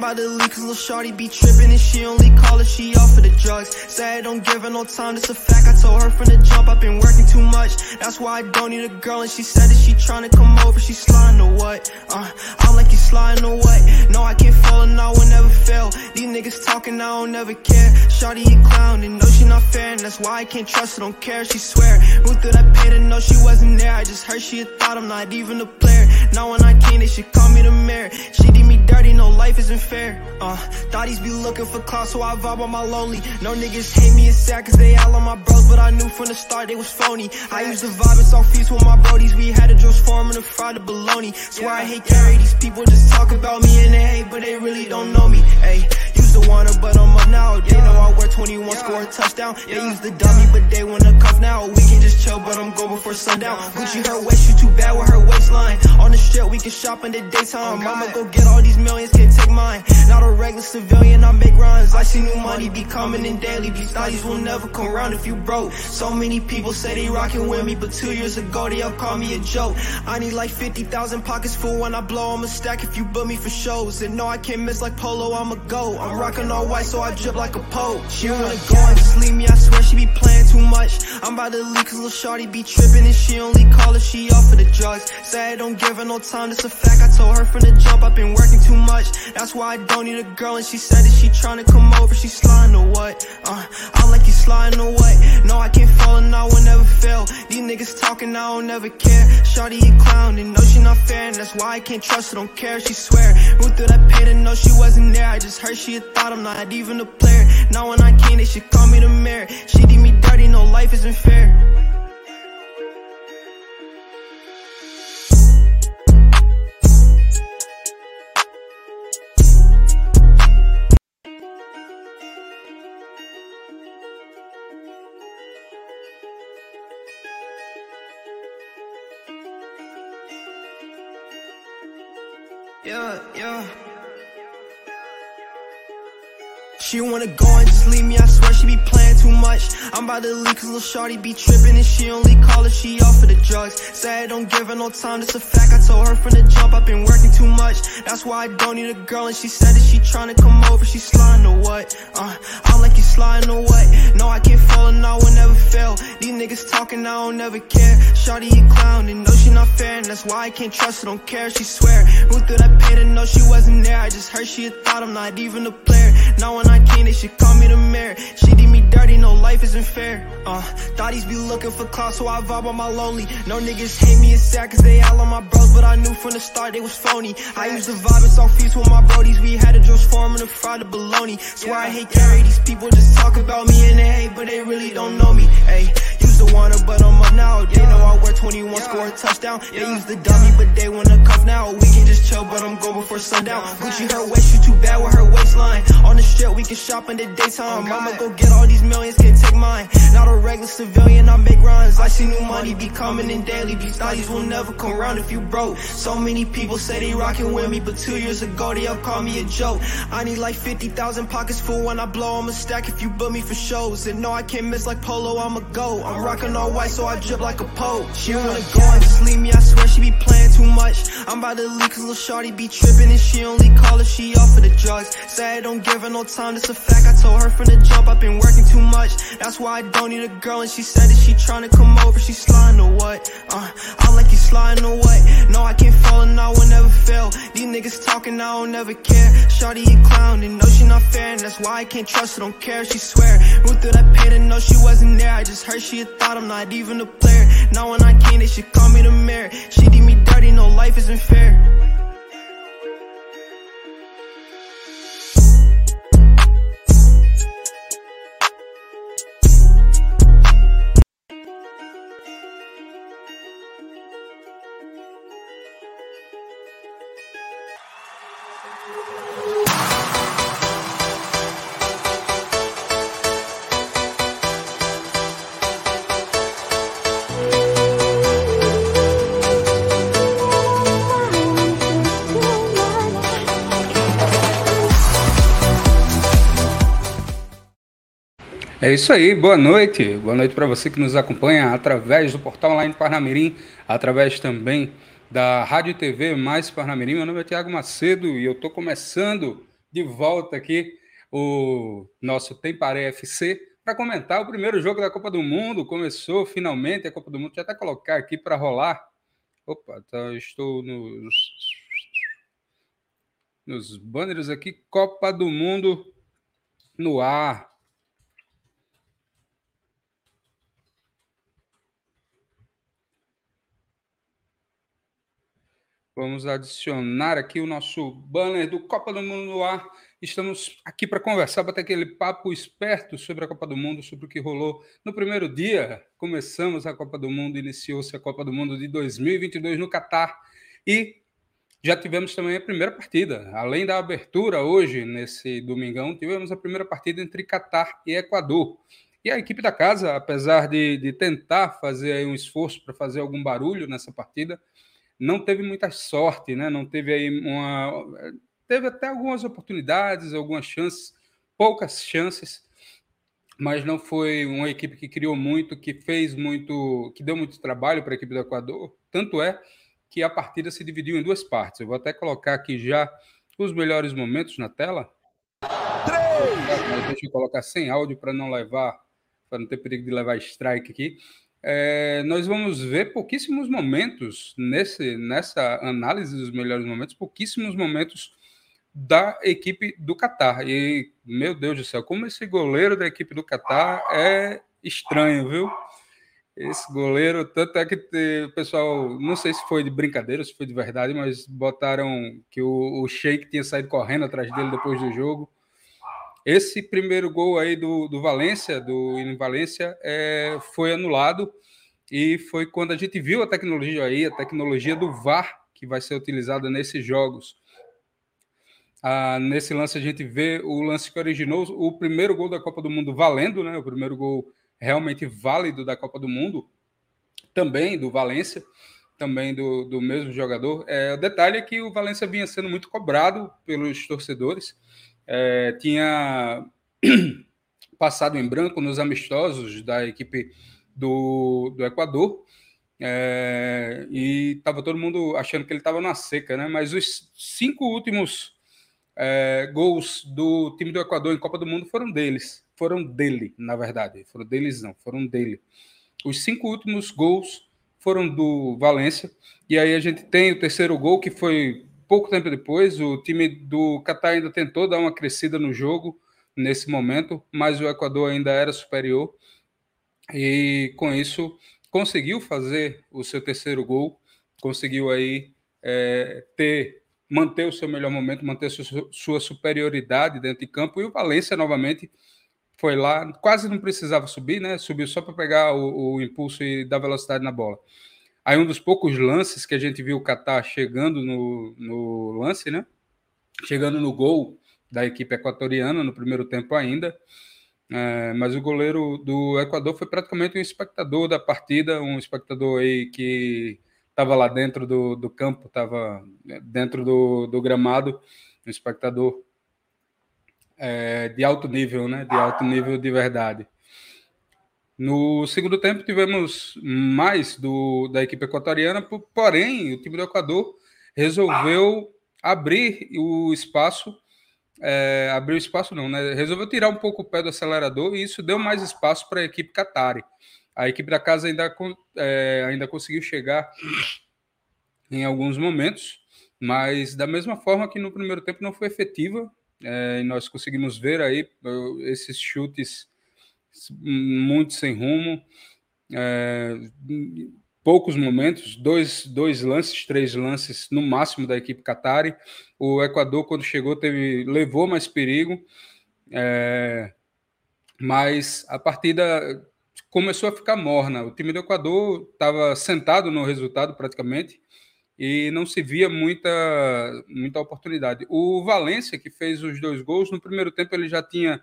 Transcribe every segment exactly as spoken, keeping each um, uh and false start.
about to leave cause lil' shorty be trippin' and she only call her, she off for the drugs. Say I don't give her no time, that's a fact, I told her from the jump, I've been working too much. That's why I don't need a girl and she said that she tryna come over, she sliding or what? Uh, I'm like you sliding or what? No, I can't fall and I will never fail. These niggas talking, I don't never care. Shorty a clown and know she not fair, and that's why I can't trust her, don't care, she swear. Who through that pain to know she wasn't there? I just heard she had thought I'm not even a player. Now when I came, they should call me the mayor. She did me dirty, no life isn't fair. Uh, thotties be looking for clout, so I vibe on my lonely. No niggas hate me, it's sad cause they all on my bros, but I knew from the start they was phony. I used to vibe and saw feast with my brodies. We had a juice form and a fried bologna. Swear I hate carry, these people just talk about me and they hate, but they really don't know me. Ayy, used to want her, but I'm up now. They know I wear twenty-one, score a touchdown. They used to dump me, but they wanna cuff now. We can just chill, but I'm go before sundown. Gucci her waist, she too bad with her waistline. On the strip, we can shop in the daytime. Mama go get all these millions, can't take mine. Not a regular civilian, I make rhymes. I see new money be coming in daily. These thotties will never come round if you broke. So many people say they rockin' with me, but two years ago they all call me a joke. I need like fifty thousand pockets full when I blow. I'ma stack if you book me for shows. And no, I can't miss like Polo, I'ma go. I'm rockin' all white, so I drip like a Pope. She wanna go and just leave me, I swear she be playing too much. I'm about to leave cause lil' shorty be trippin' and she only call her, she off for the drugs. Say I don't give her no time, that's a fact, I told her from the jump, I've been working too much. That's why I don't need a girl and she said that she tryna come over, she sliding or what? Uh, I'm like you sliding or what? No, I can't fall and I will never fail. These niggas talking, I don't never care. Shorty a clown and know she not fair, and that's why I can't trust her, don't care, she swear. Who through that pain to know she wasn't there? I just heard she had thought I'm not even a player. Now when I came, they should call me the mayor. She did me dirty, no life isn't fair. Yeah, yeah. She wanna go and just leave me, I swear she be playing too much. I'm about to leave cause lil' shorty be trippin' and she only call her, she off for the drugs. Say I don't give her no time, that's a fact, I told her from the jump, I've been working too much. That's why I don't need a girl and she said that she tryna come over, she sliding or what? Uh, I'm like you sliding or what? No, I can't fall and I will never fail. These niggas talking, I don't never care. Shorty a clown and know she not fair, and that's why I can't trust her, don't care, she swear. Who through that pain to know she wasn't there? I just heard she had thought I'm not even a player. Now when I came, they should call me the mayor. She did me dirty, no life isn't fair. Uh, thotties be looking for clout, so I vibe on my lonely. No niggas hate me, it's sad cause they all on my bros, but I knew from the start they was phony. I used to vibe and saw feast with my brodies. We had a juice form and a fried bologna. Swear I hate carry, these people just talk about me and they hate, but they really don't know me. Ayy, used to want her, but I'm up now. They know I wear twenty-one, score a touchdown. They used to dump me, but they wanna cuff now. We can just chill, but I'm go before sundown. Gucci her waist, she too bad with her waistline. On the strip, we can shop in the daytime. Mama go get all these millions, can't take mine. Not a regular civilian, I make rhymes. I see new money be coming in daily. These thotties will never come round if you broke. So many people say they rockin' with me, but two years ago they all call me a joke. I need like fifty thousand pockets full when I blow. I'ma stack if you book me for shows. And no, I can't miss like Polo, I'ma go. I'm rockin' all white, so I drip like a Pope. She wanna go and just leave me, I swear she be playing too much. I'm about to leave cause lil' shorty be trippin' and she only call her, she off for the drugs. Say I don't give her no time, that's a fact, I told her from the jump, I've been working too much. That's why I don't need a girl and she said that she tryna come over, she sliding or what? Uh, I'm like you sliding or what? No, I can't fall and I will never fail. These niggas talking, I don't never care. Shorty a clown and know she not fair, and that's why I can't trust her, don't care, she swear. Who through that pain to know she wasn't there? I just heard she had thought I'm not even a player. Now when I came, they should call me the mayor. She did me dirty, no life isn't fair. É isso aí, boa noite. Boa noite para você que nos acompanha através do Portal Online Parnamirim, através também da Rádio e T V Mais Parnamirim. Meu nome é Thiago Macedo e eu estou começando de volta aqui o nosso Temparé F C para comentar o primeiro jogo da Copa do Mundo. Começou finalmente a Copa do Mundo. Deixa eu até colocar aqui para rolar. Opa, tá, estou nos, nos banners aqui. Copa do Mundo no ar. Vamos adicionar aqui o nosso banner do Copa do Mundo no ar. Estamos aqui para conversar, bater aquele papo esperto sobre a Copa do Mundo, sobre o que rolou no primeiro dia. Começamos a Copa do Mundo, iniciou-se a Copa do Mundo de dois mil e vinte e dois no Catar e já tivemos também a primeira partida. Além da abertura hoje, nesse domingão, tivemos a primeira partida entre Catar e Equador. E a equipe da casa, apesar de, de tentar fazer aí um esforço para fazer algum barulho nessa partida, não teve muita sorte, né? Não teve aí uma... Teve até algumas oportunidades, algumas chances, poucas chances, mas não foi uma equipe que criou muito, que fez muito, que deu muito trabalho para a equipe do Equador. Tanto é que a partida se dividiu em duas partes. Eu vou até colocar aqui já os melhores momentos na tela. Três! Mas deixa eu colocar sem áudio para não levar, para não ter perigo de levar strike aqui. É, nós vamos ver pouquíssimos momentos nesse, nessa análise dos melhores momentos, pouquíssimos momentos da equipe do Catar. E, meu Deus do céu, como esse goleiro da equipe do Catar é estranho, viu? Esse goleiro, tanto é que o pessoal, não sei se foi de brincadeira, se foi de verdade, mas botaram que o, o Sheik tinha saído correndo atrás dele depois do jogo. Esse primeiro gol aí do, do Valência, do em Valência, é, foi anulado e foi quando a gente viu a tecnologia aí, a tecnologia do V A R, que vai ser utilizada nesses jogos. Ah, nesse lance a gente vê o lance que originou o primeiro gol da Copa do Mundo valendo, né? O primeiro gol realmente válido da Copa do Mundo, também do Valência, também do, do mesmo jogador. É, o detalhe é que o Valência vinha sendo muito cobrado pelos torcedores. É, tinha passado em branco nos amistosos da equipe do, do Equador, é, e estava todo mundo achando que ele estava na seca, né? Mas os cinco últimos é, gols do time do Equador em Copa do Mundo foram deles, foram dele, na verdade, foram deles não, foram dele. Os cinco últimos gols foram do Valência, e aí a gente tem o terceiro gol, que foi pouco tempo depois. O time do Catar ainda tentou dar uma crescida no jogo nesse momento, mas o Equador ainda era superior e com isso conseguiu fazer o seu terceiro gol, conseguiu aí é, ter, manter o seu melhor momento, manter sua, sua superioridade dentro de campo, e o Valência novamente foi lá, quase não precisava subir, né? Subiu só para pegar o, o impulso e dar velocidade na bola. Aí um dos poucos lances que a gente viu o Catar chegando no, no lance, né? Chegando no gol da equipe equatoriana no primeiro tempo ainda. É, mas o goleiro do Equador foi praticamente um espectador da partida, um espectador aí que estava lá dentro do, do campo, estava dentro do, do gramado, um espectador é, de alto nível, né? De alto nível de verdade. No segundo tempo tivemos mais do, da equipe equatoriana, porém o time do Equador resolveu abrir o espaço, é, abrir o espaço não, né? Resolveu tirar um pouco o pé do acelerador, e isso deu mais espaço para a equipe Qatari. A equipe da casa ainda, é, ainda conseguiu chegar em alguns momentos, mas da mesma forma que no primeiro tempo não foi efetiva, é, e nós conseguimos ver aí esses chutes muito sem rumo, é, poucos momentos, dois, dois lances, três lances no máximo da equipe Qatari. O Equador, quando chegou, teve, levou mais perigo, é, mas a partida começou a ficar morna. O time do Equador estava sentado no resultado praticamente e não se via muita, muita oportunidade. O Valência, que fez os dois gols, no primeiro tempo ele já tinha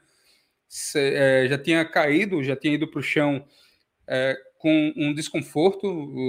É, já tinha caído, já tinha ido para o chão é, com um desconforto,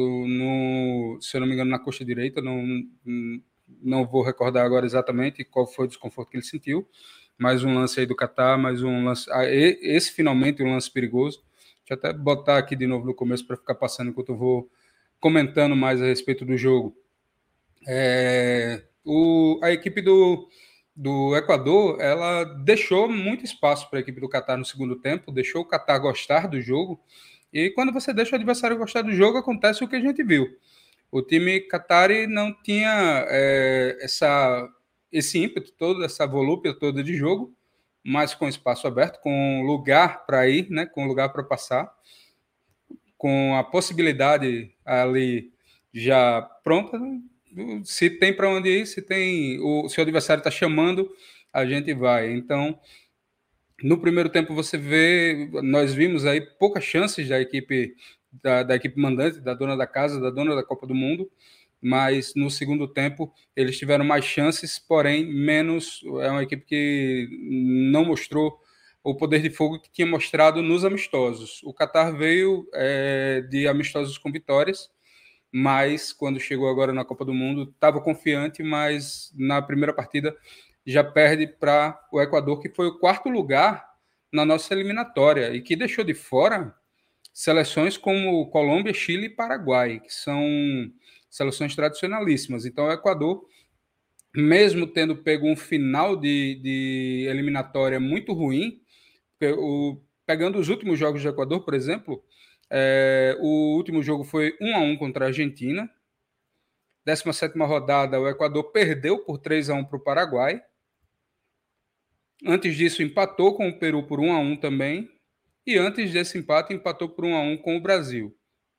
no, se eu não me engano, na coxa direita. Não, não vou recordar agora exatamente qual foi o desconforto que ele sentiu. Mais um lance aí do Catar, mais um lance. Ah, esse finalmente um lance perigoso. Deixa eu até botar aqui de novo no começo para ficar passando enquanto eu vou comentando mais a respeito do jogo. É, o, a equipe do do Equador, ela deixou muito espaço para a equipe do Catar no segundo tempo, deixou o Catar gostar do jogo, e quando você deixa o adversário gostar do jogo, acontece o que a gente viu. O time Qatari não tinha é, essa, esse ímpeto todo, essa volúpia toda de jogo, mas com espaço aberto, com lugar para ir, né, com lugar para passar, com a possibilidade ali já pronta. Se tem para onde ir, se tem o seu adversário está chamando, a gente vai. Então, no primeiro tempo você vê, nós vimos aí poucas chances da equipe da, da equipe mandante, da dona da casa, da dona da Copa do Mundo, mas no segundo tempo eles tiveram mais chances, porém menos. É uma equipe que não mostrou o poder de fogo que tinha mostrado nos amistosos. O Catar veio é, de amistosos com vitórias, mas quando chegou agora na Copa do Mundo estava confiante, mas na primeira partida já perde para o Equador, que foi o quarto lugar na nossa eliminatória e que deixou de fora seleções como Colômbia, Chile e Paraguai, que são seleções tradicionalíssimas. Então, o Equador, mesmo tendo pego um final de, de eliminatória muito ruim, o, pegando os últimos jogos do Equador, por exemplo, é, o último jogo foi um a um contra a Argentina. décima sétima rodada, o Equador perdeu por três a um para o Paraguai. Antes disso, empatou com o Peru por um a um também. E antes desse empate, empatou por um a um com o Brasil.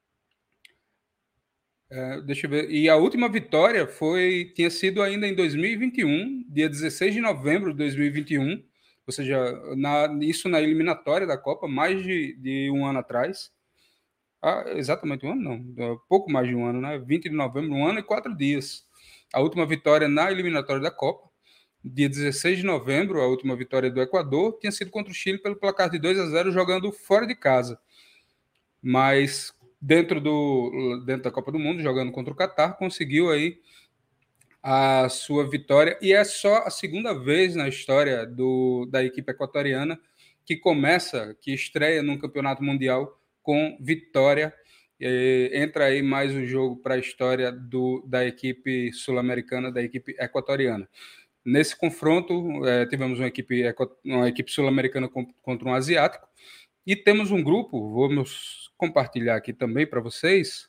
É, deixa eu ver. E a última vitória foi, tinha sido ainda em dois mil e vinte e um, dia dezesseis de novembro de dois mil e vinte e um, ou seja, na, isso na eliminatória da Copa, mais de, de um ano atrás. Ah, exatamente um ano, não, pouco mais de um ano, né? vinte de novembro, um ano e quatro dias. A última vitória na eliminatória da Copa, dia dezesseis de novembro, a última vitória do Equador, tinha sido contra o Chile pelo placar de dois a zero, jogando fora de casa. Mas dentro, do, dentro da Copa do Mundo, jogando contra o Catar, conseguiu aí a sua vitória. E é só a segunda vez na história do, da equipe equatoriana que começa, que estreia num campeonato mundial com vitória. E entra aí mais um jogo para a história do, da equipe sul-americana, da equipe equatoriana. Nesse confronto, é, tivemos uma equipe, uma equipe sul-americana contra um asiático, e temos um grupo, vamos compartilhar aqui também para vocês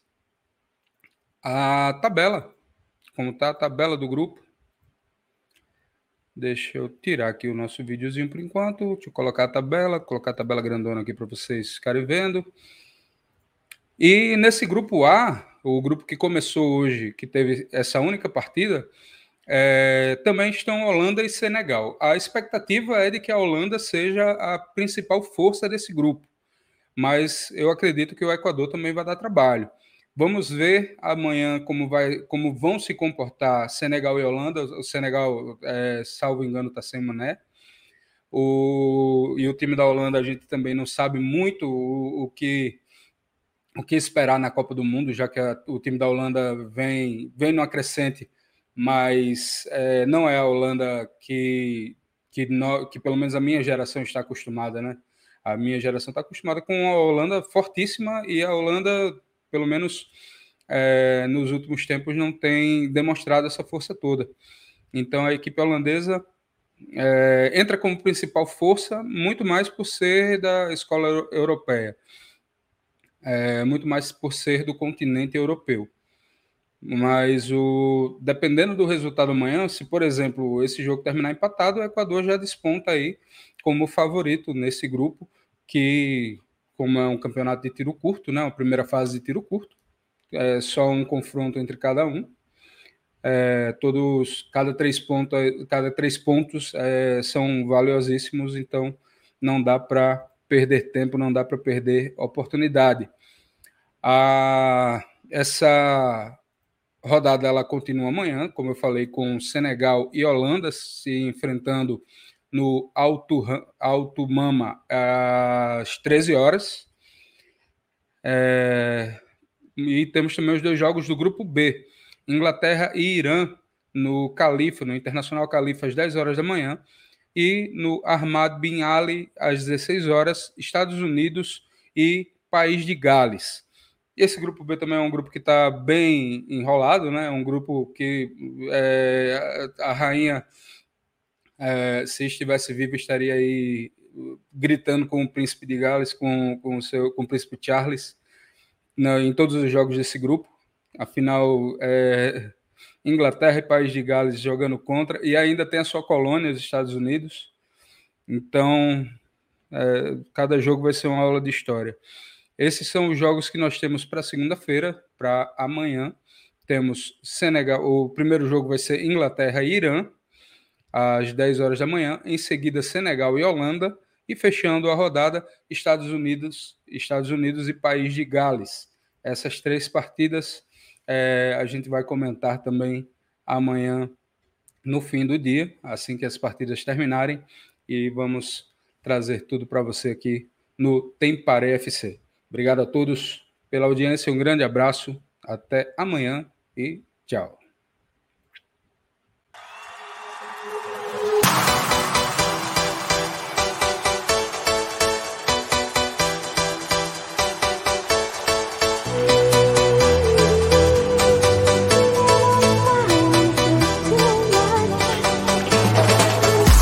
a tabela, como está a tabela do grupo. Deixa eu tirar aqui o nosso videozinho por enquanto, deixa eu colocar a tabela, colocar a tabela grandona aqui para vocês ficarem vendo. E nesse grupo A, o grupo que começou hoje, que teve essa única partida, É, também estão Holanda e Senegal. A expectativa é de que a Holanda seja a principal força desse grupo, mas eu acredito que o Equador também vai dar trabalho. Vamos ver amanhã como, vai, como vão se comportar Senegal e Holanda. O Senegal, é, salvo engano, está sem Mané. O, e o time da Holanda, a gente também não sabe muito o, o, que, o que esperar na Copa do Mundo, já que a, o time da Holanda vem, vem numa crescente, mas é, não é a Holanda que, que, no, que pelo menos a minha geração está acostumada, né? A minha geração está acostumada com a Holanda fortíssima, e a Holanda, pelo menos é, nos últimos tempos, não tem demonstrado essa força toda. Então a equipe holandesa é, entra como principal força, muito mais por ser da escola europeia, é, muito mais por ser do continente europeu. Mas o, dependendo do resultado amanhã, se, por exemplo, esse jogo terminar empatado, o Equador já desponta aí como favorito nesse grupo, que, como é um campeonato de tiro curto, né, uma primeira fase de tiro curto, é só um confronto entre cada um. É, todos, cada três pontos, cada três pontos é, são valiosíssimos, então não dá para perder tempo, não dá para perder oportunidade. A, essa rodada ela continua amanhã, como eu falei, com Senegal e Holanda se enfrentando no Alto, Alto Mama às treze horas. É, e temos também os dois jogos do grupo B, Inglaterra e Irã, no Califa, no Internacional Califa, às dez horas da manhã, e no Ahmad Bin Ali, às dezesseis horas, Estados Unidos e País de Gales. Esse grupo B também é um grupo que está bem enrolado, né? Um grupo que é, a rainha É, se estivesse vivo, estaria aí gritando com o Príncipe de Gales, com, com, o, seu, com o Príncipe Charles, na, em todos os jogos desse grupo. Afinal, é, Inglaterra e País de Gales jogando contra, e ainda tem a sua colônia, os Estados Unidos. Então, é, cada jogo vai ser uma aula de história. Esses são os jogos que nós temos para segunda-feira, para amanhã. Temos Senegal, o primeiro jogo vai ser Inglaterra e Irã, às dez horas da manhã. Em seguida, Senegal e Holanda. E fechando a rodada, Estados Unidos, Estados Unidos e País de Gales. Essas três partidas é, a gente vai comentar também amanhã no fim do dia, assim que as partidas terminarem. E vamos trazer tudo para você aqui no Temparé F C. Obrigado a todos pela audiência, um grande abraço, até amanhã e tchau.